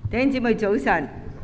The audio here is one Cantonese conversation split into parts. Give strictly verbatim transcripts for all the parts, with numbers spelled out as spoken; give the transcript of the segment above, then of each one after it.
弟兄姊妹早晨。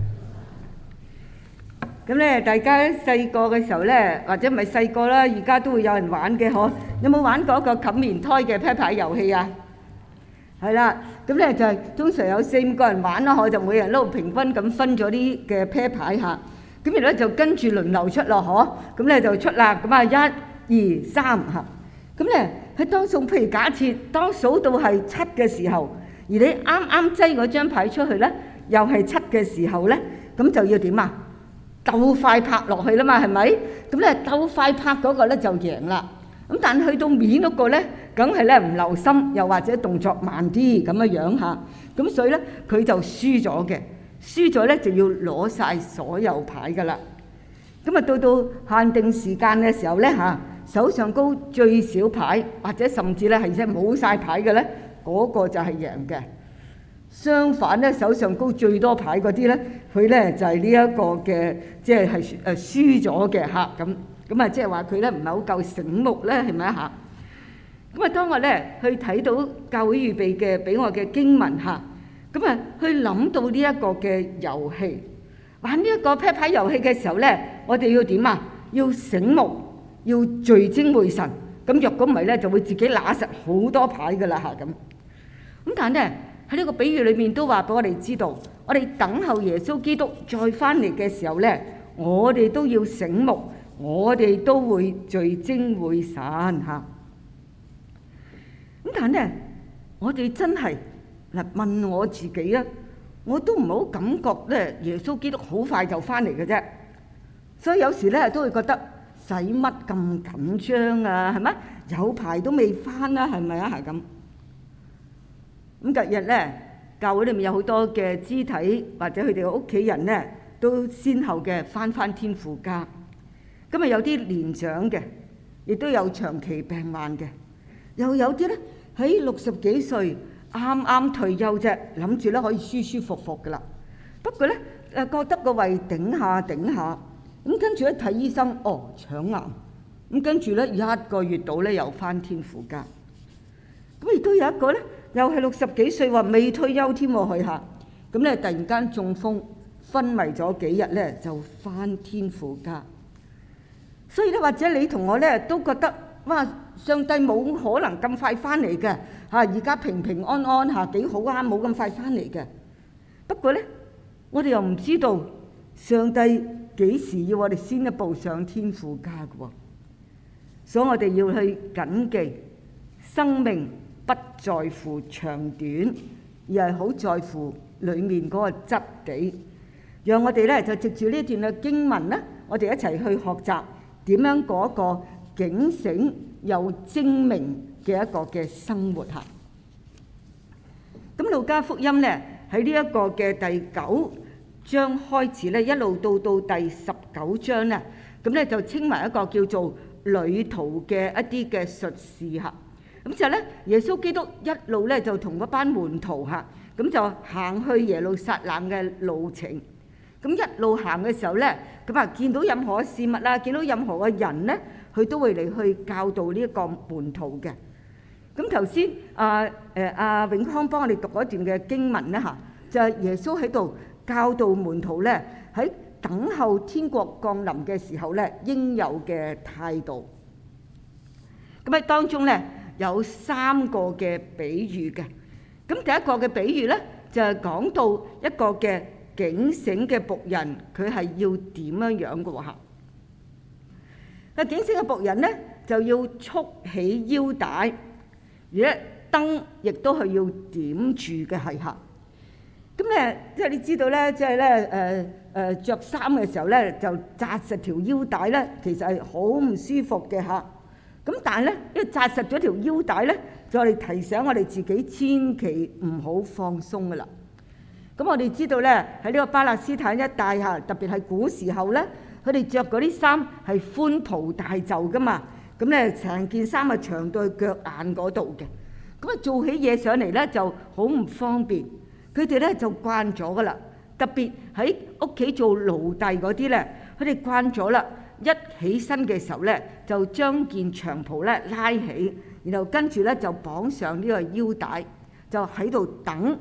咁咧，大家細個嘅時候咧，或者唔係細個啦，而家都會有人玩嘅嗬。有冇玩過一個冚棉胎嘅啤牌遊戲啊？係啦，咁咧就係通常有四五個人玩啦，我就每人都平均咁分咗啲嘅啤牌嚇。咁然後咧就跟住輪流出咯，嗬。咁咧就出啦。咁啊，一、二、三嚇。咁咧喺當數，譬如假設當數到係七嘅時候，而你啱啱擠嗰張牌出去咧，又係七嘅時候咧，咁就要點啊？鬥快拍落去啦嘛，係咪？咁咧鬥快拍嗰個咧就贏啦。咁但係去到面嗰個咧，梗係咧唔留心，又或者動作慢啲咁嘅樣嚇。咁所以咧佢就輸咗嘅，輸咗咧就要攞曬所有牌噶啦。咁啊到到限定時間嘅時候咧嚇，手上高最少牌，或者甚至咧係即係冇曬牌嘅咧，嗰個就係贏嘅。相反咧，手上高最多牌嗰啲咧，佢咧就係呢一個嘅，即係係誒輸咗嘅嚇咁。咁啊，即係話佢咧唔係好夠醒目咧，係咪啊嚇？咁啊，當我咧去睇到教會預備嘅俾我嘅經文嚇，咁啊去諗到呢一個嘅遊戲，玩呢一個啤牌遊戲嘅時候咧，我哋要點啊？要醒目，要聚精會神。咁若果唔係咧，就會自己揦實好多牌噶啦嚇咁。咁但係咧，喺呢個比喻裏面都話俾我哋知道，我哋等候耶穌基督再翻嚟嘅時候咧，我哋都要醒目，我哋都會聚精會神嚇。咁但係咧，我哋真係嗱問我自己啊，我都唔好感覺咧耶穌基督好快就翻嚟嘅啫。所以有時咧都會覺得使乜咁緊張啊？係咪？有排都未翻啦，係咪啊？係咁。咁近日咧，教會裏面有好多嘅肢體或者佢哋嘅屋企人咧，都先後嘅翻翻天父家。咁啊有啲年長嘅，亦都有長期病患嘅，又有啲咧喺六十幾歲啱啱退休啫，諗住咧可以舒舒服服噶啦。不過咧誒覺得個胃頂下頂下，咁跟住一睇醫生，哦腸癌，咁跟住咧一個月到咧又翻天父家。咁亦都有一個咧。又係六十幾歲喎，未退休添喎，佢嚇咁咧，突然間中風昏迷咗幾日咧，就返天父家。所以咧，或者你同我咧都覺得哇，上帝冇可能咁快翻嚟嘅嚇，而家平平安安嚇幾好啊，冇咁快翻嚟嘅。不過咧，我哋又唔知道上帝幾時要我哋先一步上天父家嘅喎，所以我哋要去謹記生命。不在乎長短，而係好在乎裡面嗰個質地。讓我哋咧就藉住呢段嘅經文咧，我哋一齊去學習點樣過一個警醒又精明嘅一個嘅生活嚇。咁路加福音咧喺呢一個嘅第九章開始咧，一路到到第十九章咧，咁咧就稱為一個叫做旅途嘅一啲嘅術士嚇。咁之後咧，耶穌基督一路咧就同嗰班門徒嚇，咁就行去耶路撒冷嘅路程。咁一路行嘅時候咧，咁啊見到任何事物啦，見到任何嘅人咧，佢都會嚟去教導呢一個門徒嘅。咁頭先啊誒阿永康幫我哋讀嗰段嘅經文咧嚇，就係耶穌喺度教導門徒咧喺等候天國降臨嘅時候咧應有嘅態度。咁喺當中咧，有三個嘅比喻嘅，咁第一個嘅比喻咧就係講到一個嘅警醒嘅僕人，佢係要點樣樣嘅喎嚇。個警醒嘅僕人咧就要束起腰帶，而且燈亦都係要點住嘅係嚇。咁咧即係你知道咧，即係咧誒誒著衫嘅時候咧就紮實條腰帶咧，其實係好唔舒服嘅嚇。咁但係咧，因為紮實咗條腰帶咧，就我哋提醒我哋自己千祈唔好放鬆噶啦。咁我哋知道咧，喺呢個巴勒斯坦一帶嚇，特別係古時候咧，佢哋著嗰啲衫係寬袍大袖噶嘛。咁咧成件衫係長到去腳眼嗰度嘅。咁啊做起嘢上嚟咧就好唔方便。佢哋咧就慣咗噶啦，特別喺屋企做奴隸嗰啲咧，佢哋慣咗啦。一起身嘅時候咧，就將件長袍咧拉起，然後跟住咧就綁上呢個腰帶，就喺度等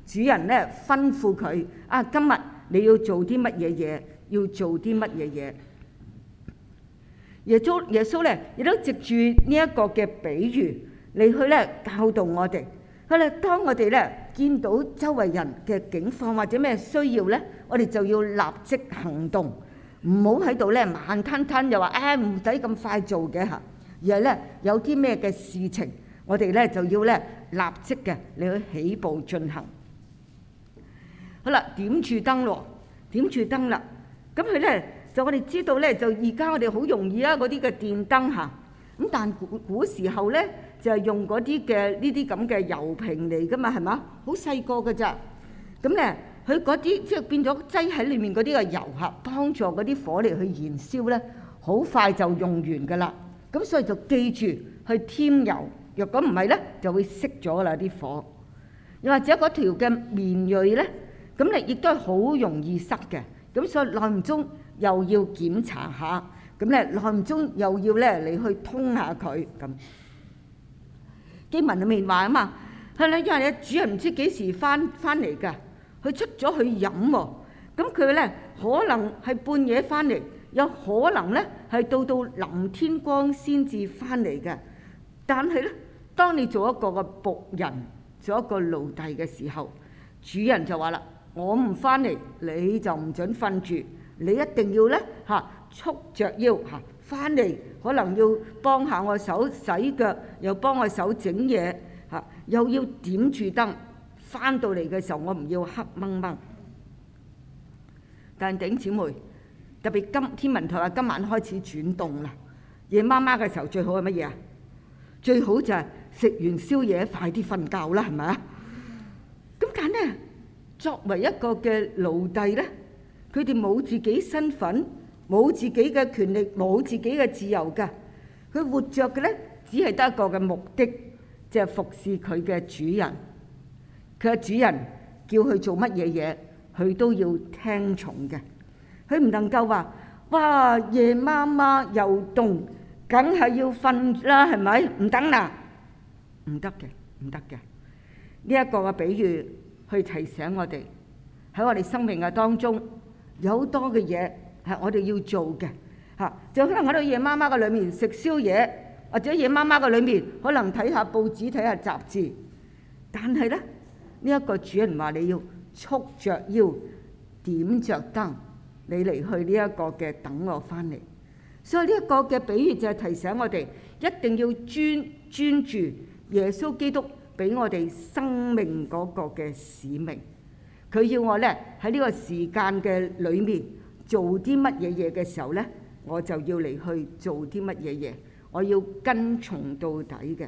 主人咧吩咐佢啊，今日你要做啲乜嘢嘢，要做啲乜嘢嘢。耶穌耶穌咧亦都藉住呢一個嘅比喻嚟去咧教導我哋。佢咧當我哋咧見到周圍人嘅境況或者咩需要咧，我哋就要立即行動，唔好喺度咧慢吞吞又話誒唔使咁快做嘅嚇，而係咧有啲咩嘅事情，我哋咧就要咧立即嘅嚟去起步進行。好啦，點住燈咯，點住燈啦，咁佢咧就我哋知道咧，就而家我哋好容易啊嗰啲嘅電燈嚇，咁但古古時候咧就係用嗰啲嘅呢啲咁嘅油瓶嚟噶嘛，係嘛？好細個㗎咋，咁咧佢嗰啲即係變咗擠喺裏面嗰啲嘅油嚇，幫助嗰啲火嚟去燃燒咧，好快就用完噶啦。咁所以就記住去添油，若果唔係咧就會熄咗啦啲火。又或者嗰條嘅棉鋁咧，咁你亦都係好容易塞嘅，咁所以耐唔中又要檢查下，咁咧耐唔中又要咧嚟去通下佢咁。經文裏面話啊嘛，係啦，因為咧主人唔知幾時翻翻嚟㗎，佢出咗去飲喎，咁佢咧可能係半夜翻嚟，有可能咧係到到臨天光先至翻嚟嘅。但係咧，當你做一個嘅僕人，做一個奴隸嘅時候，主人就話啦：我唔翻嚟，你就唔準瞓住，你一定要咧嚇束著腰嚇翻嚟，可能要幫下我手洗腳，又幫我手整嘢嚇，又要點住燈。翻到嚟嘅時候，我唔要黑掹掹。但係弟兄姊妹，特別今天文台話今晚開始轉凍啦，夜媽媽嘅時候最好係乜嘢啊？最好就係食完宵夜快啲瞓覺啦，係咪啊？咁但係咧，作為一個嘅奴隸咧，佢哋冇自己身份，冇自己嘅權力，冇自己嘅自由㗎。佢活着嘅咧，只係得一個嘅目的，就係服侍佢嘅主人。佢嘅主人叫佢做乜嘢嘢，佢都要聽從嘅。佢唔能夠話：哇，夜媽媽又凍，梗係要瞓啦，係咪？唔等啦，唔得嘅，唔得嘅。呢一個嘅比喻去提醒我哋喺我哋生命嘅當中有好多嘅嘢係我哋要做嘅嚇。就可能喺度夜媽媽嘅裏面食宵夜，或者夜媽媽嘅裏面可能睇下報紙、睇下雜誌。但係咧，呢一個主人話你要束著腰、點著燈，你嚟去呢一個嘅等我翻嚟。所以呢一個嘅比喻就係提醒我哋一定要專專注耶穌基督俾我哋生命嗰個嘅使命。佢要我咧喺呢個時間嘅裏面做啲乜嘢嘢嘅時候咧，我就要嚟去做啲乜嘢嘢，我要跟從到底嘅。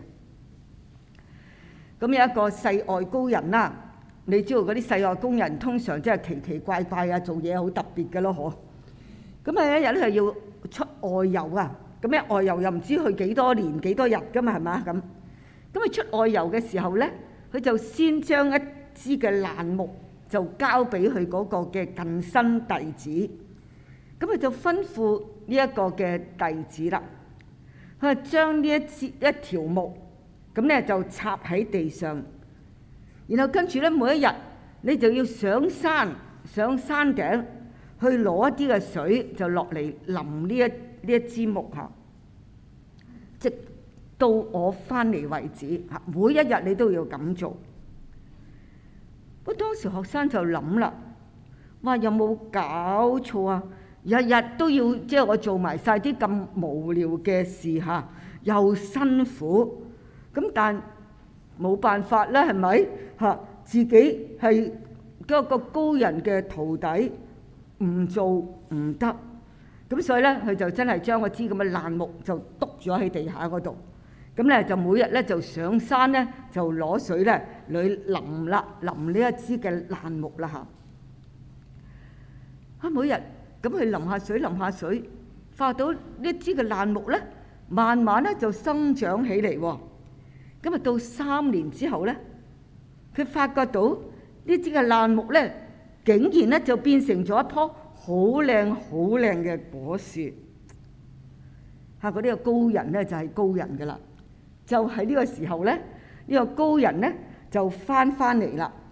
咁有一個世外高人啦，你知道嗰啲世外高人通常真係奇奇怪怪啊，做嘢好特別嘅咯，嗬。咁啊一日咧係要出外遊啊，咁咧外遊又唔知去幾多年幾多日噶嘛，係嘛咁？咁佢出外遊嘅時候咧，佢就先將一支嘅爛木就交俾佢嗰個嘅近身弟子，咁佢就吩咐呢一個嘅弟子啦，佢就將呢一支一條木咁咧就插喺地上，然後跟住咧每一日你就要上山上山頂去攞一啲嘅水，就落嚟淋呢一呢一支木下，直到我翻嚟為止嚇。每一日你都要咁做。不過當時學生就諗啦，哇，有冇搞錯啊？日日都要即係我做埋晒啲咁無聊嘅事嚇，又辛苦，咁但冇辦法啦，係咪嚇？自己係嗰個高人嘅徒弟，唔做唔得，咁所以咧佢就真係將嗰支咁嘅爛木就篤咗喺地下嗰度，咁咧就每日咧就上山咧就攞水咧嚟淋啦淋呢一支嘅爛木啦嚇。啊，每日咁去淋下水淋下水，發到呢支嘅爛木咧，慢慢咧就生長起嚟喎。咁啊到三年之後咧，佢發覺到呢支嘅爛木咧，竟然咧就變成咗一棵好靚好靚嘅果樹。嚇！嗰啲個高人咧就係高人噶啦，就喺呢個時候咧，呢個高人咧就翻翻嚟啦。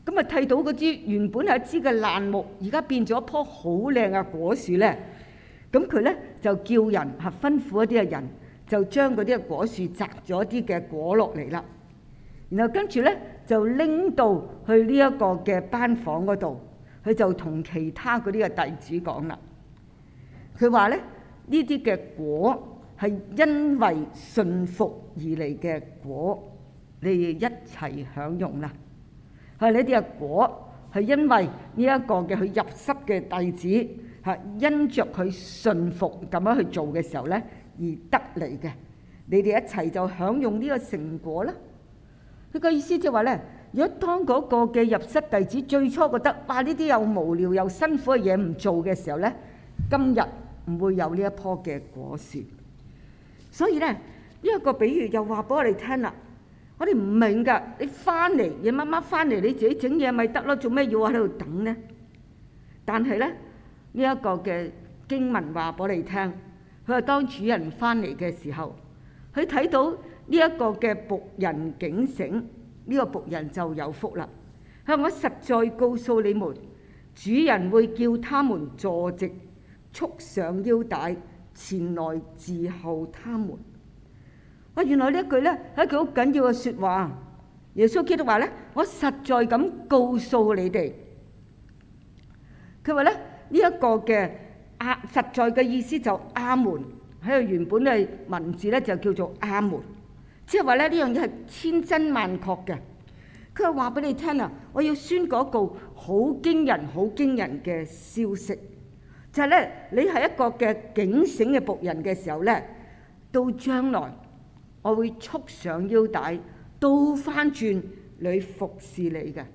咁啊睇到嗰支原本係一支嘅爛木，而家變咗一棵好靚嘅果樹咧。咁佢咧就叫人嚇吩咐一啲嘅人，就將嗰啲嘅果樹摘咗啲嘅果落嚟啦。然後跟住咧就拎到去呢一個嘅班房嗰度，佢就同其他嗰啲嘅弟子講啦。佢話咧呢啲嘅果係因為順服而嚟嘅果，你哋一齊享用啦。係呢啲嘅果係因為呢一個嘅佢入室嘅弟子係因着佢順服咁樣去做嘅時候咧而得嚟嘅，你哋一齊就享用呢個成果啦。佢個意思即係話咧，如果當嗰個嘅入室弟子最初覺得哇呢啲又無聊又辛苦嘅嘢唔做嘅時候咧，今日唔會有呢一棵嘅果樹。所以咧呢一個比喻又話俾我哋聽啦，我哋唔明㗎，你翻嚟夜媽媽翻嚟你自己整嘢咪得咯，做咩要喺度等呢？但係咧呢一個嘅經文話俾我哋聽，佢話當主人翻嚟嘅時候，佢睇到呢一個嘅僕人警醒，呢個僕人就有福啦。佢話我實在告訴你們，主人會叫他們坐直，束上腰帶，前來伺候他們。哇！原來呢一句咧係一句好緊要嘅説話。耶穌基督話咧：我實在咁告訴你哋。佢話咧呢一個嘅阿實在嘅意思就阿門，喺度原本嘅文字咧就叫做阿門，即係話咧呢樣嘢係千真萬確嘅。佢係話俾你聽啊，我要宣告一個好驚人、好驚人嘅消息，就係咧你係一個嘅警醒嘅僕人嘅時候咧，到將來我會束上腰帶，倒翻轉嚟服侍你嘅。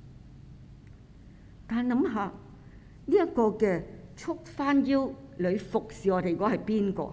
但係諗下呢一個嘅束翻腰嚟服侍我哋，嗰係邊個？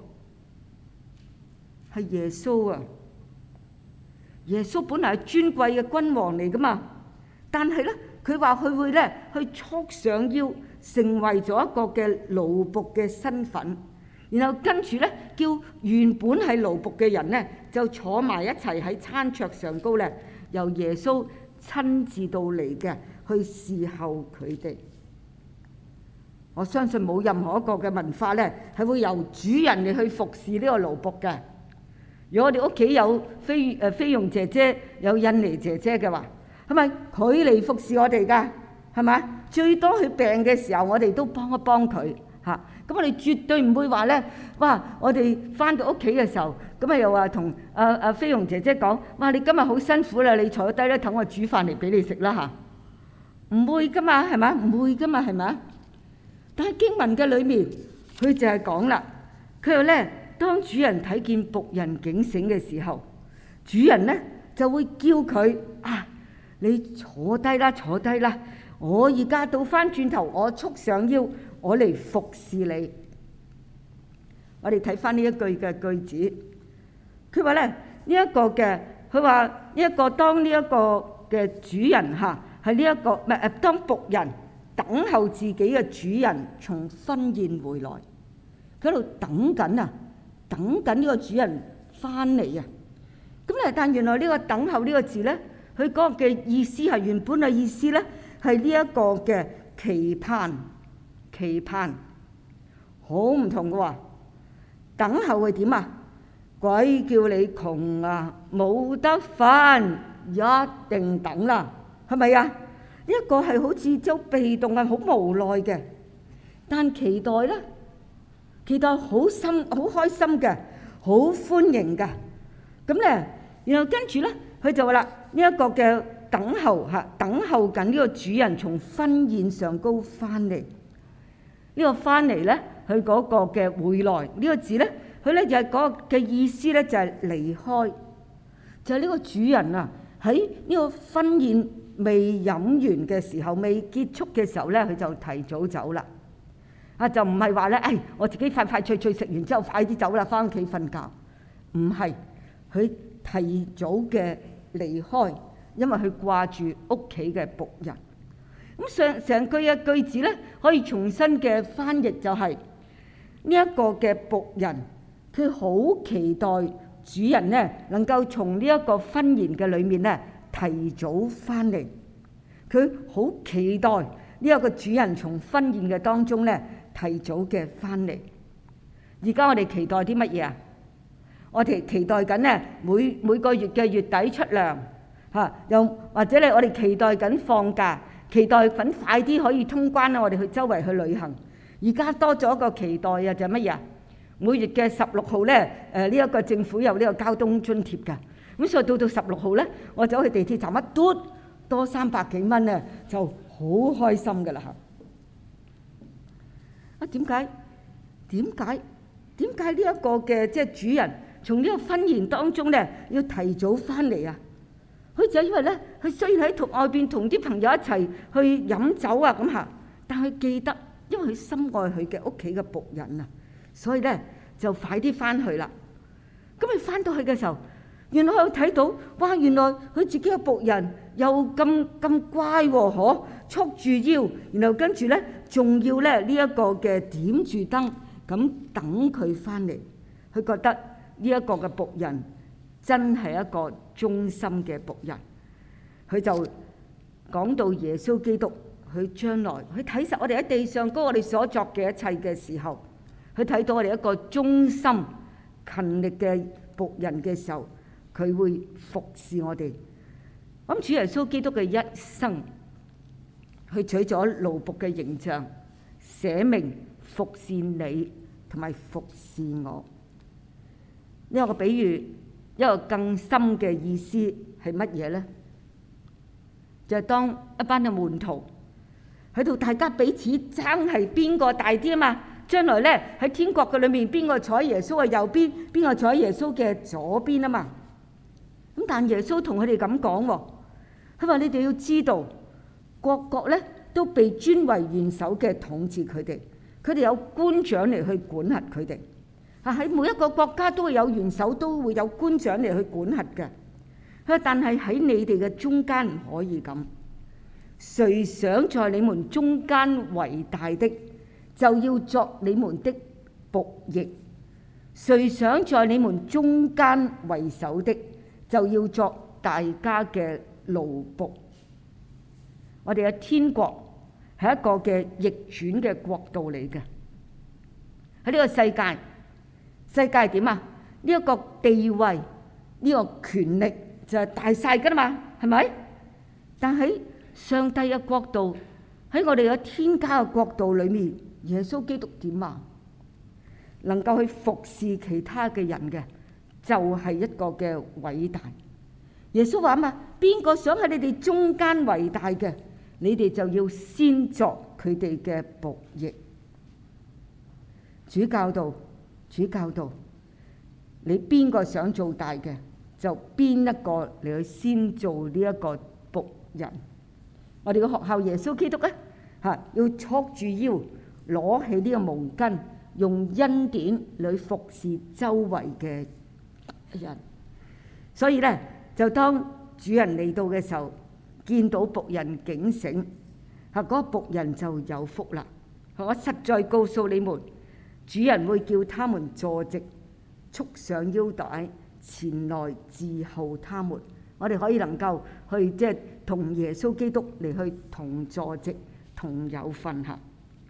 係耶穌啊！耶穌本來係尊貴嘅君王嚟噶嘛，但係咧佢話佢會咧去束上腰，成為咗一個嘅奴僕嘅身份。然後跟住咧，叫原本係奴僕嘅人咧，就坐埋一齊喺餐桌上高咧，由耶穌親自到嚟嘅去侍候佢哋。我相信冇任何一個嘅文化咧，係會由主人嚟去服侍呢個奴僕嘅。如果我哋屋企有菲誒菲傭姐姐，有印尼姐姐嘅話，係咪佢嚟服侍我哋㗎？係咪？最多佢病嘅時候，我哋都幫一幫佢。嚇！咁我哋絕對唔會話咧，哇！我哋翻到屋企嘅時候，咁啊又話同阿阿菲傭姐姐講，哇！你今日好辛苦啦，你坐低咧，等我煮飯嚟俾你食啦嚇！唔會噶嘛，係咪？唔會噶嘛，係咪？但係經文嘅裏面，佢就係講啦，佢話咧，當主人睇見僕人警醒嘅時候，主人咧就會叫佢啊，你坐低啦，坐低啦，我而家倒翻轉頭，我束上腰。我嚟服侍你。我哋睇翻呢一句嘅句子，佢話咧呢一個嘅，佢話呢一個當呢一個嘅主人嚇係呢一個唔係誒，當僕人等候自己嘅主人從婚宴回來，佢喺度等緊啊，等緊呢個主人翻嚟啊。咁咧，但原來呢個等候呢個字咧，佢嗰個嘅意思係原本嘅意思咧係呢一個嘅期盼。期盼好唔同嘅喎，等候係點啊？鬼叫你窮啊，冇得返，一定等啦，係咪啊？呢一個係好似就被動，係好無奈嘅，但期待咧，期待好心好開心嘅，好歡迎嘅。咁咧，然後跟住咧，佢就話啦，呢一個嘅等候嚇，等候緊呢個主人從婚宴上高翻嚟。呢個翻嚟咧，佢嗰個嘅回來呢個字咧，佢咧就係嗰個嘅意思咧，就係離開，就係呢個主人啊喺呢個婚宴未飲完嘅時候，未結束嘅時候咧，佢就提早走啦。啊，就唔係話咧，誒我自己快快脆脆食完之後快啲走啦，翻屋企瞓覺。唔係，佢提早嘅離開，因為佢掛住屋企嘅僕人。咁上成句嘅句子咧，可以重新嘅翻譯就係呢一個嘅僕人，佢好期待主人咧能夠從呢一個婚宴嘅裏面咧提早翻嚟。 佢好期待呢一個主人從婚宴嘅當中咧提早嘅翻嚟。而家我哋期待啲乜嘢啊？我哋期待緊咧每每個月嘅月底出糧嚇，又或者咧我哋期待緊放假，期待緊快啲可以通關啦，我哋去周圍去旅行。而家多咗一個期待啊，就係乜嘢啊？每月嘅十六號咧，誒呢一個政府有呢個交通津貼㗎，咁所以到到十六號咧，我走去地鐵站一嘟多三百幾蚊咧，就好開心㗎啦嚇！啊點解？點解？點解呢一個嘅即係主人從呢個婚宴當中咧要提早翻嚟啊？佢就因為咧，佢雖然喺同外邊同啲朋友一齊去飲酒啊咁嚇，但係記得，因為佢深愛佢嘅屋企嘅僕人啊，所以咧就快啲翻去啦。咁佢翻到去嘅時候，原來佢睇到，哇！原來佢自己嘅僕人又咁咁乖喎，嗬，束住腰，然後跟住咧仲要咧呢一個嘅點住燈，咁等佢翻嚟。佢覺得呢一個嘅僕人真係一個忠心嘅僕人。佢就講到耶穌基督，佢將來佢睇實我哋喺地上嗰我哋所作嘅一切嘅時候，佢睇到我哋一個忠心勤力嘅僕人嘅時候，佢會服侍我哋。咁主耶穌基督嘅一生，佢取咗奴僕嘅形象，捨命服侍你同埋服侍我。呢個比喻一個更深嘅意思係乜嘢呢？就係當一班嘅門徒喺度，大家彼此爭係邊個大啲啊嘛！將來咧喺天國嘅裏面，邊個坐喺耶穌嘅右邊，邊個坐喺耶穌嘅左邊啊嘛！咁但耶穌同佢哋咁講喎，佢話你哋要知道，各國咧都被尊為元首嘅統治佢哋，佢哋有官長嚟去管轄佢哋。啊，喺每一個國家都會有元首，都會有官長嚟去管轄嘅。佢話但係喺你哋嘅中間唔可以咁，誰想在你們中間為大的，就要作你們的僕役；誰想在你們中間為首的，就要作大家嘅奴僕。我哋嘅天國係一個嘅逆轉嘅國度嚟嘅。喺呢個世界，世界係點啊？呢一個地位，呢個權力就係大晒㗎啦嘛，係咪？但喺上帝嘅國度，喺我哋嘅天家嘅國度裏面，耶穌基督點啊？能夠去服侍其他嘅人嘅，就係一個嘅偉大。耶穌話啊嘛，邊個想喺你哋中間為大嘅，你哋就要先作佢哋嘅僕役。主教導，主教導，你邊個想做大嘅，就邊一個嚟去先做呢一個僕人。我哋嘅學校耶穌基督咧嚇，要束住腰，攞起呢個毛巾，用恩典嚟服侍周圍嘅人。所以咧，就當主人嚟到嘅時候，見到僕人警醒，嚇嗰個僕人就有福啦。我實在告訴你們，主人會叫他們坐直，束上腰帶，前來伺候他們。我哋可以能夠去即係同耶穌基督嚟去同坐席，同有份嚇。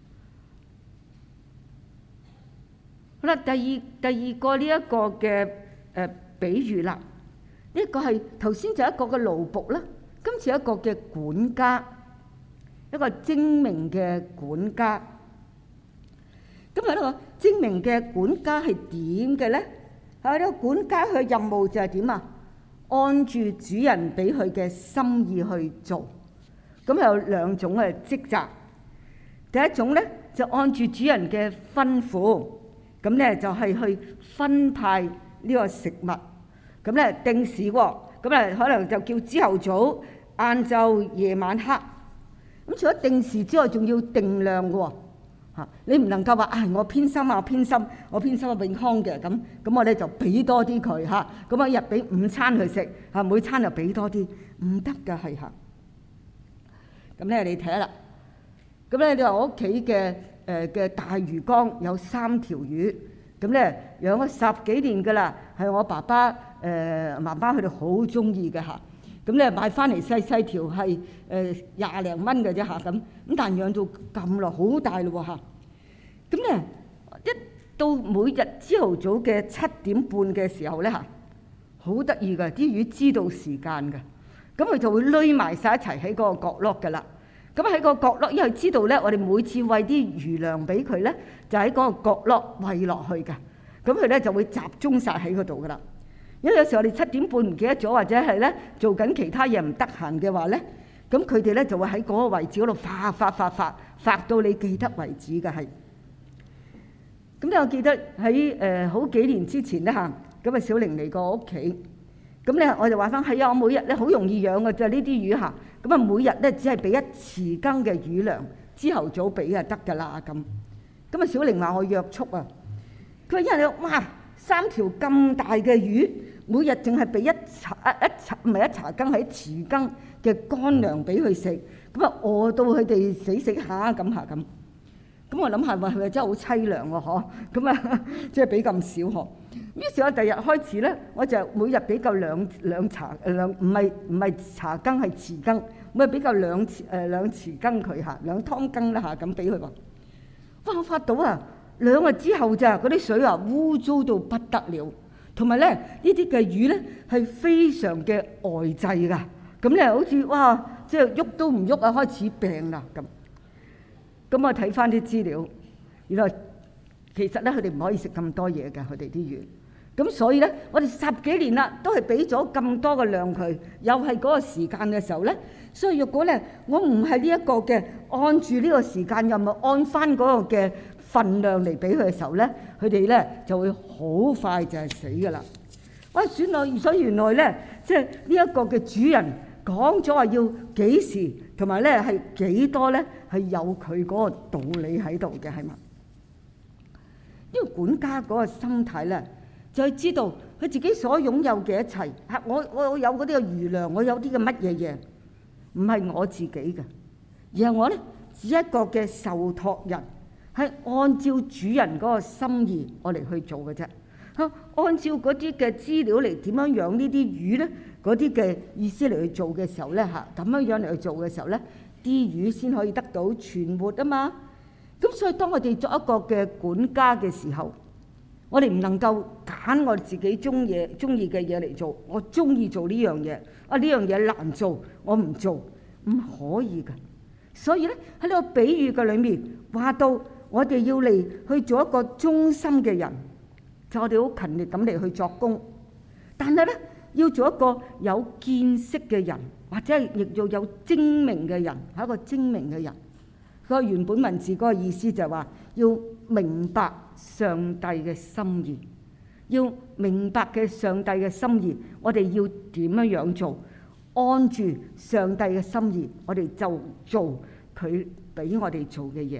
好啦，第二第二個呢一個嘅誒比喻啦，呢一個係頭先就一個嘅奴僕啦，今次一個嘅管家，一個精明嘅管家。咁啊呢個精明嘅管家係點嘅咧？啊呢個管家佢嘅任務就係點啊？按住主人俾佢嘅心意去做。咁有兩種嘅職責。第一種咧就按住主人嘅吩咐，咁咧就係去分派呢個食物。咁咧定時喎，咁咧可能就叫朝頭早、晏晝、夜晚黑。咁除咗定時之外，仲要定量嘅喎。嚇，你唔能夠話啊！我偏心啊，我偏心，我偏心啊永康嘅咁，咁我咧就俾多啲佢嚇。咁啊一日俾午餐佢食嚇，每餐就俾多啲，唔得㗎係嚇。咁咧你睇下啦。咁咧你話我屋企嘅誒嘅大魚缸有三條魚，咁咧養咗十幾年㗎啦，係我爸爸誒媽媽佢哋好中意嘅嚇。 咁咧買翻嚟細細條係誒廿零蚊嘅啫嚇咁，咁但係養到咁耐好大咯喎嚇。咁咧一到每日朝頭早嘅七點半嘅時候咧嚇，好得意㗎，啲魚知道時間㗎，咁佢就會匿埋晒一齊喺嗰個角落㗎啦。咁喺個角落，因為知道咧，我哋每次餵啲魚糧俾佢咧，就喺嗰個角落餵落去㗎。咁佢咧就會集中晒喺嗰度㗎啦。因為有時我哋七點半唔記得咗，或者係咧做緊其他嘢唔得閒嘅話咧，咁佢哋咧就會喺嗰個位置嗰度發發發發發到你記得為止嘅係。咁咧我記得喺誒好幾年之前咧嚇，咁啊小玲嚟過我屋企，咁咧我就話翻係啊，我每日咧好容易養嘅就係呢啲魚嚇。咁啊，每日咧只係俾一匙羹嘅魚糧，朝頭早俾就得㗎啦咁。咁啊，小玲話我約束啊，佢話因為你哇三條咁大嘅魚，每日淨係俾一茶一一茶唔係一茶羹，係一匙羹嘅乾糧俾佢食，咁啊餓到佢哋死死下咁下咁。咁我諗下話係咪真係好凄涼喎？嗬，咁啊即係俾咁少嗬。於是我第日開始咧，我就每日俾夠兩兩茶兩唔係唔係茶羹係匙羹，每日俾夠兩匙誒兩匙羹佢嚇，兩湯羹啦嚇咁俾佢話。哇！我發到啊，兩日之後咋嗰啲水啊污糟到不得了，同埋咧呢啲嘅魚咧係非常嘅呆滯㗎，咁咧好似哇即係喐都唔喐啊，開始病啦咁。咁我睇翻啲資料，原來其實咧佢哋唔可以食咁多嘢㗎，佢哋啲魚。咁所以咧，我哋十幾年啦，都係俾咗咁多嘅量佢，又係嗰個時間嘅時候咧。所以若果咧，我唔係呢一個嘅按住呢個時間，又唔係按翻嗰個嘅份量嚟俾佢嘅時候咧，佢哋咧就會好快就係死㗎啦。哇！算啦，所以原來咧，即係呢一個嘅主人講咗話要幾時，同埋咧係幾多咧，係有佢嗰個道理喺度嘅，係嘛？呢個管家嗰個心態咧，就係知道佢自己所擁有嘅一切。嚇，我我有嗰啲嘅魚糧，我有啲嘅乜嘢嘢，唔係我自己嘅，而係我咧只一個嘅受託人，係按照主人嗰個心意我嚟去做嘅啫。嚇，按照嗰啲嘅資料嚟點樣養呢啲魚咧，嗰啲嘅意思嚟去做嘅時候咧，嚇咁樣樣嚟去做嘅時候咧，啲魚先可以得到存活啊嘛。咁所以當我哋作一個嘅管家嘅時候，我哋唔能夠揀我自己中意中意嘅嘢嚟做。我中意做呢樣嘢，啊呢樣嘢難做，我唔做，唔可以㗎。所以咧喺呢個比喻嘅裏面話到，我哋要嚟去做一個忠心嘅人，就我哋好勤力咁嚟去作工。但係咧要做一個有見識嘅人，或者係亦要有精明嘅人，係一個精明嘅人。個原本文字嗰個意思就係話要明白上帝嘅心意，要明白嘅上帝嘅心意，我哋要點樣樣做？按住上帝嘅心意，我哋就做佢俾我哋做嘅嘢。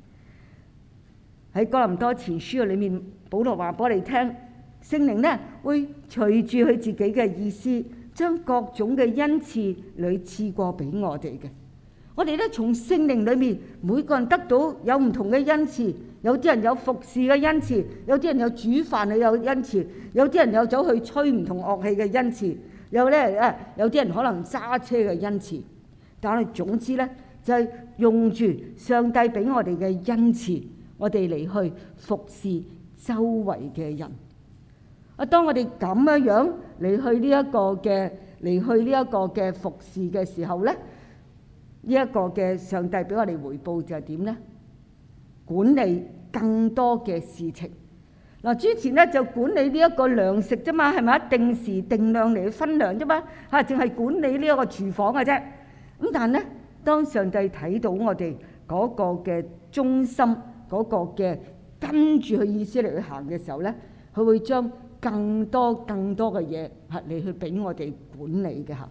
喺哥林多前書裏面，保羅話俾我哋聽，聖靈咧會隨住佢自己嘅意思，將各種嘅恩賜嚟賜過俾我哋嘅。我哋咧從聖靈裏面，每個人得到有唔同嘅恩賜，有啲人有服侍嘅恩賜，有啲人有煮飯嘅有恩賜，有啲人有走去吹唔同樂器嘅恩賜，有咧誒有啲人可能揸車嘅恩賜。但係總之咧，就係用住上帝俾我哋嘅恩賜，我哋嚟去服侍周圍嘅人。啊，當我哋咁樣樣嚟去呢一個嘅嚟去呢一個嘅服侍嘅時候咧，呢一個嘅上帝俾我哋回報就係點咧？管理更多嘅事情。嗱，之前咧就管理呢一個糧食啫嘛，係咪啊？定時定量嚟去分糧啫嘛，嚇，淨係管理呢一個廚房嘅啫。咁但係咧，當上帝睇到我哋嗰個嘅忠心，嗰個嘅跟住佢意思嚟去行嘅時候咧，佢會將更多更多嘅嘢嚇嚟去俾我哋管理嘅嚇。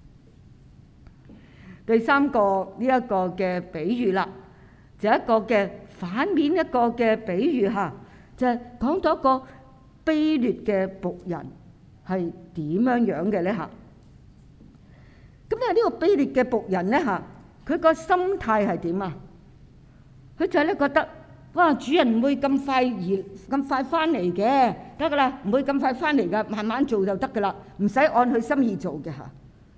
第三個呢一個嘅比喻啦，就一個嘅反面一個嘅比喻嚇，就係講到一個卑劣嘅僕人係點樣樣嘅咧嚇。咁咧呢個卑劣嘅僕人咧嚇，佢個心態係點啊？佢就係咧覺得，哇！主人唔會咁快而咁快翻嚟嘅，得噶啦，唔會咁快翻嚟噶，慢慢做就得噶啦，唔使按佢心意做嘅嚇。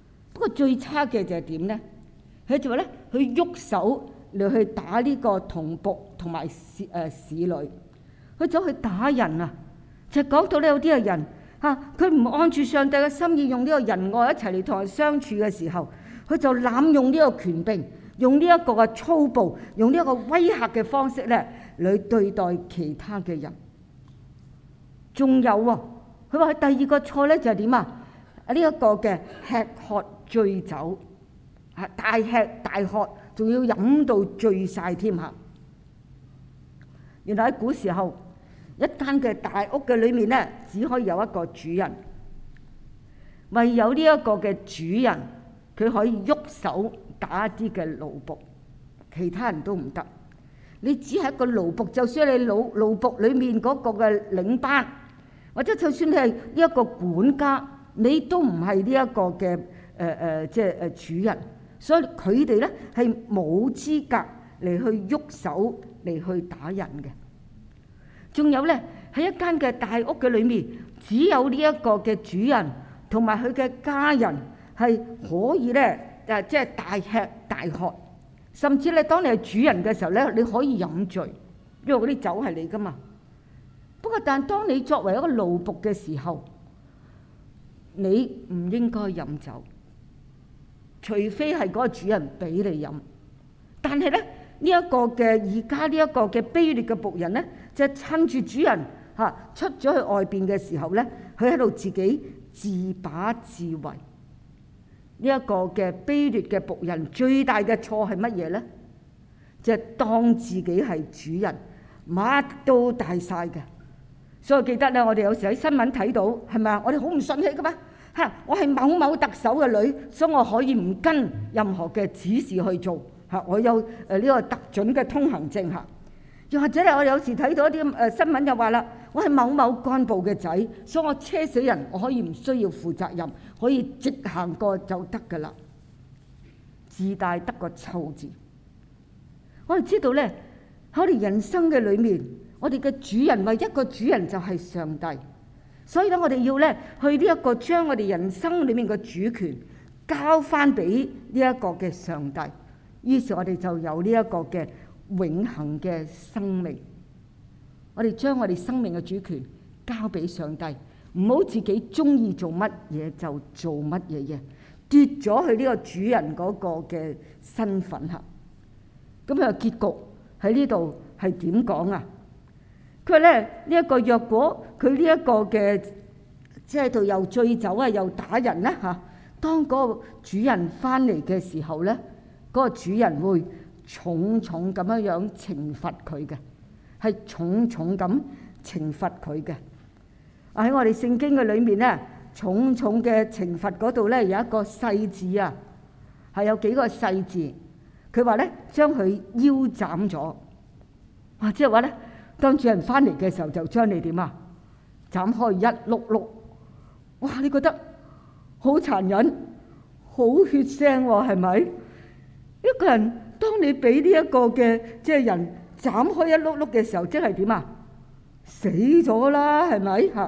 過最差嘅就係點咧？佢就話咧，佢喐手嚟去打呢個童僕同埋使誒使女，佢走去打人啊！就講到咧，有啲嘅人嚇，佢唔按住上帝嘅心意，用呢個仁愛一齊嚟同人相處嘅時候，佢就濫用呢個權柄，用呢一個嘅粗暴，用呢一個威嚇嘅方式咧嚟對待其他嘅人。仲有喎，佢話佢第二個錯咧就係點啊？呢一個嘅吃喝醉酒，嚇大吃大喝，仲要飲到醉曬添嚇。原來喺古時候，一間嘅大屋嘅裏面咧，只可以有一個主人，唯有呢一個嘅主人，佢可以喐手打一啲嘅奴僕，其他人都唔得。你只係一個奴僕，就算你奴奴僕裏面嗰個嘅領班，或者就算你係呢一個管家，你都唔係呢一個嘅誒誒，即係誒主人。所以佢哋咧係冇資格嚟去喐手嚟去打人嘅。仲有咧，喺一間嘅大屋嘅裏面，只有呢一個嘅主人同埋佢嘅家人係可以咧誒，即係大吃大喝，甚至咧當你係主人嘅時候咧，你可以飲醉，因為嗰啲酒係你噶嘛。不過，但當你作為一個奴僕嘅時候，你唔應該飲酒，除非係嗰個主人俾你飲。但係咧，呢一個嘅而家呢一個嘅卑劣嘅僕人咧，就趁住主人嚇出咗去外邊嘅時候咧，佢喺度自己自把自為。呢一個嘅卑劣嘅僕人最大嘅錯係乜嘢咧？就係當自己係主人，乜都大晒嘅。所以我記得咧，我哋有時喺新聞睇到係咪啊？我哋好唔順氣噶嘛嚇！我係某某特首嘅女，所以我可以唔跟任何嘅指示去做嚇。我有誒呢個特准嘅通行證嚇。又或者咧，我有時睇到一啲誒新聞就話啦，我係某某幹部嘅仔，所以我車死人，我可以唔需要負責任，可以直行過就得噶啦。自大得個臭字。我哋知道咧，喺我哋人生嘅裏面，我哋嘅主人唯一個主人就係上帝，所以咧我哋要咧去呢一個將我哋人生裏面嘅主權交翻俾呢一個嘅上帝，於是我哋就有呢一個嘅永恆嘅生命。我哋將我哋生命嘅主權交俾上帝，唔好自己中意做乜嘢就做乜嘢嘢，奪咗佢呢個主人嗰個嘅身份嚇。咁佢嘅結局喺呢度係點講啊？佢話咧呢一個若果佢呢一個嘅即係度又醉酒啊，又打人咧嚇，當嗰個主人翻嚟嘅時候咧，嗰個主人會重重咁樣樣懲罰佢嘅，係重重咁懲罰佢嘅。喺我哋聖經嘅裏面咧，重重嘅懲罰嗰度咧有一個細字啊，係有幾個細字。佢話咧將佢腰斬咗，哇！即係話咧，當主人翻嚟嘅時候就將你點啊？斬開一碌碌，哇！你覺得好殘忍、好血腥喎，係咪？一個人當你俾呢一個嘅即係人斬開一碌碌嘅時候，即係點啊？死咗啦，係咪嚇？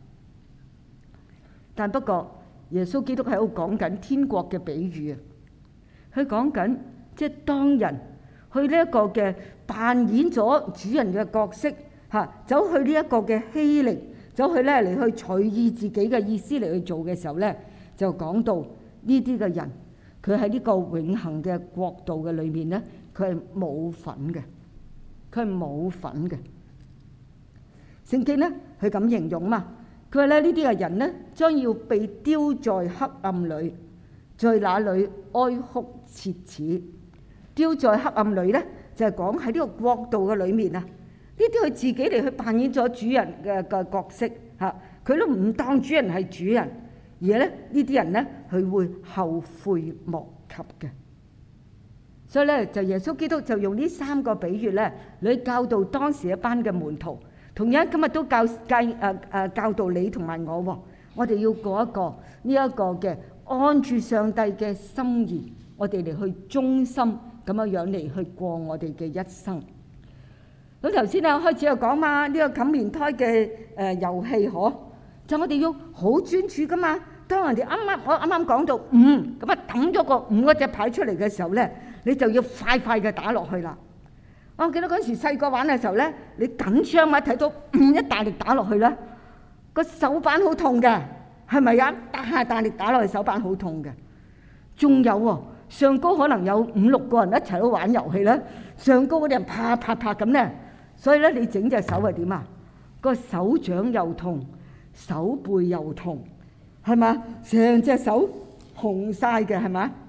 但不過耶穌基督喺度講緊天國嘅比喻啊，佢講緊。即係當人去呢一個嘅扮演咗主人嘅角色嚇，走去呢一個嘅欺凌，走去咧嚟去隨意自己嘅意思嚟去做嘅時候咧，就講到呢啲嘅人，佢喺呢個永恆嘅國度嘅裏面咧，佢係冇份嘅，佢係冇份嘅。聖經咧佢咁形容嘛，佢話咧呢啲嘅人咧將要被丟在黑暗裏，在那裏哀哭切齒。丟在黑暗裏咧，就係講喺呢個國度嘅裏面啊！呢啲佢自己嚟去扮演咗主人嘅嘅角色嚇，佢都唔當主人係主人，而咧呢啲人咧佢會後悔莫及嘅。所以咧就耶穌基督就用呢三個比喻咧嚟教導當時一班嘅門徒，同樣今日都教教誒誒教導你同埋我喎。我哋要過一個呢一個嘅按住上帝嘅心意，我哋嚟去忠心。咁樣樣嚟去過我哋嘅一生。咁頭先啊開始又講嘛，呢個冚棉胎嘅誒遊戲嗬，就我哋要好專注噶嘛， 當人哋啱啱我啱啱講到五，咁啊揼咗個五嗰隻牌出嚟嘅時候咧，你就要快快嘅打落去啦。我記得嗰陣時細個玩嘅時候咧，你緊張啊，睇到五一大力打落去咧，個手板好痛嘅，係咪啊？大下大力打落去手板好痛嘅。仲有喎，上高可能有五六個人一齊都玩遊戲咧，上高嗰啲人啪啪啪咁咧，所以咧你整隻手係點啊？個手掌又痛，手背又痛。係嘛？成隻手紅曬嘅係嘛？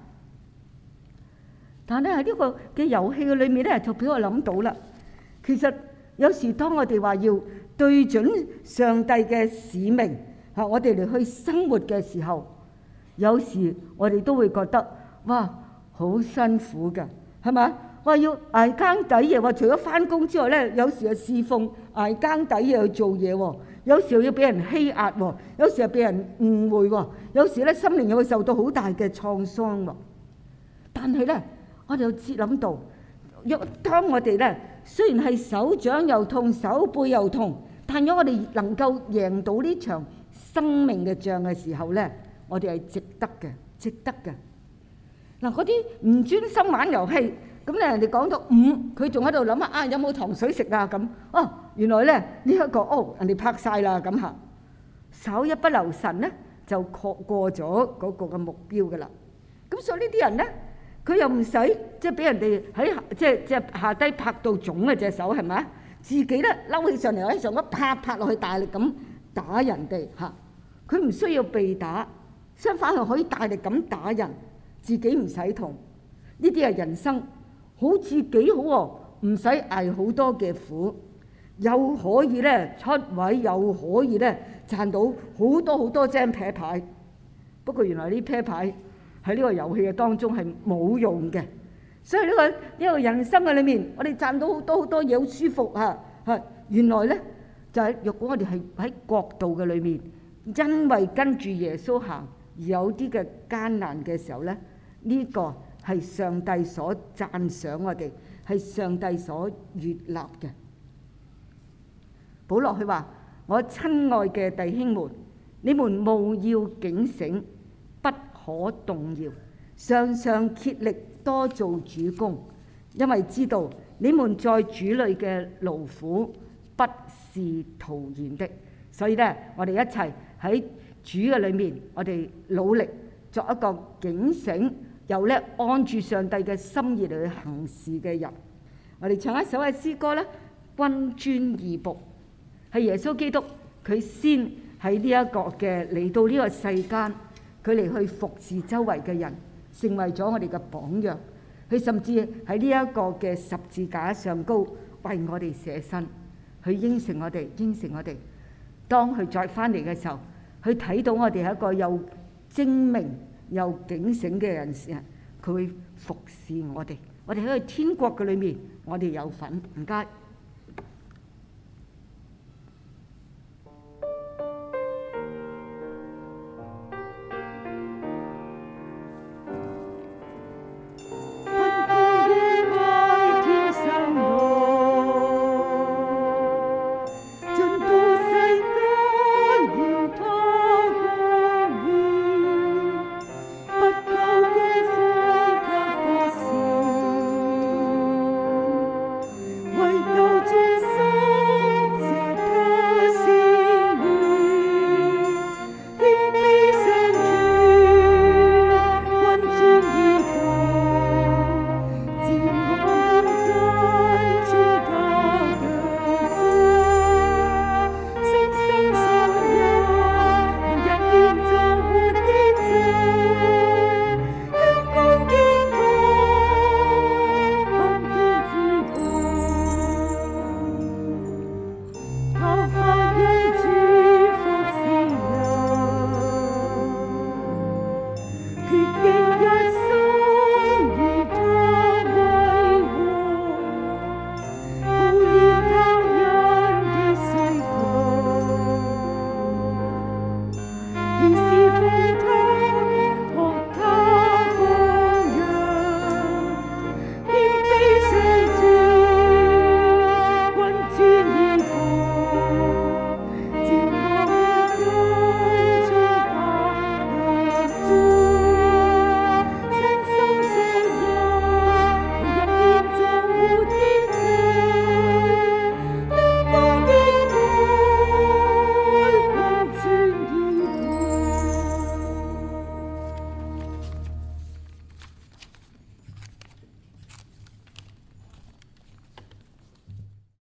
但係喺呢個嘅遊戲嘅裏面咧，就俾我諗到啦。其實有時當我哋話要對準上帝嘅使命嚇，我哋嚟去生活嘅時候，有時我哋都會覺得哇，好辛苦㗎，係嘛？話要捱更抵夜，話除咗翻工之外咧，有時又侍奉捱更抵夜去做嘢喎。有時候要俾人欺壓喎，有時候俾人誤會喎，有時咧心靈又會受到好大嘅創傷喎。但係咧，我哋又知諗到，若當我哋咧雖然係手掌又痛、手背又痛，但如果我哋能夠贏到呢場生命嘅仗嘅時候咧，我哋係值得嘅，值得嘅。嗱，嗰啲唔專心玩遊戲。咁咧，人哋講到五，佢仲喺度諗下啊，有冇糖水食啊？咁哦，原來咧呢一個哦，人哋拍曬啦咁嚇，稍一不留神咧就過過咗嗰個嘅目標噶啦。咁所以呢啲人咧，佢又唔使即係俾人哋喺即係即係下低拍到腫嘅隻手係咪？自己咧嬲起上嚟喺上邊拍拍落去，大力咁打人哋嚇。佢唔需要被打，相反係可以大力咁打人，自己唔使痛。呢啲係人生。好似幾好喎，唔使捱好多嘅苦，又可以咧出位，又可以咧賺到好多好多張啤牌。不過原來呢啤牌喺呢個遊戲嘅當中係冇用嘅，所以呢個呢個人生嘅裏面，我哋賺到好多好多嘢，好舒服啊！係原來咧就係若果我哋係喺國度嘅裏面，因為跟住耶穌行而有啲嘅艱難嘅時候咧，呢個係上帝所讚賞我哋，係上帝所悅納嘅。保羅佢話：我親愛嘅弟兄們，你們務要警醒，不可動搖，常常竭力多做主工，因為知道你們在主裏嘅勞苦不是徒然的。所以咧，我哋一齊喺主嘅裏面，我哋努力作一個警醒，又咧按住上帝嘅心意嚟去行事嘅人。我哋唱一首嘅詩歌咧，君尊義僕，係耶穌基督佢先喺呢一個嘅嚟到呢個世間，佢嚟去服侍周圍嘅人，成為咗我哋嘅榜樣。佢甚至喺呢一個嘅十字架上高為我哋捨身，佢應承我哋，應承我哋。當佢再翻嚟嘅時候，佢睇到我哋係一個又精明又警醒嘅人時，佢會服侍我哋。我哋喺個天國嘅裏面，我哋有份。唔該。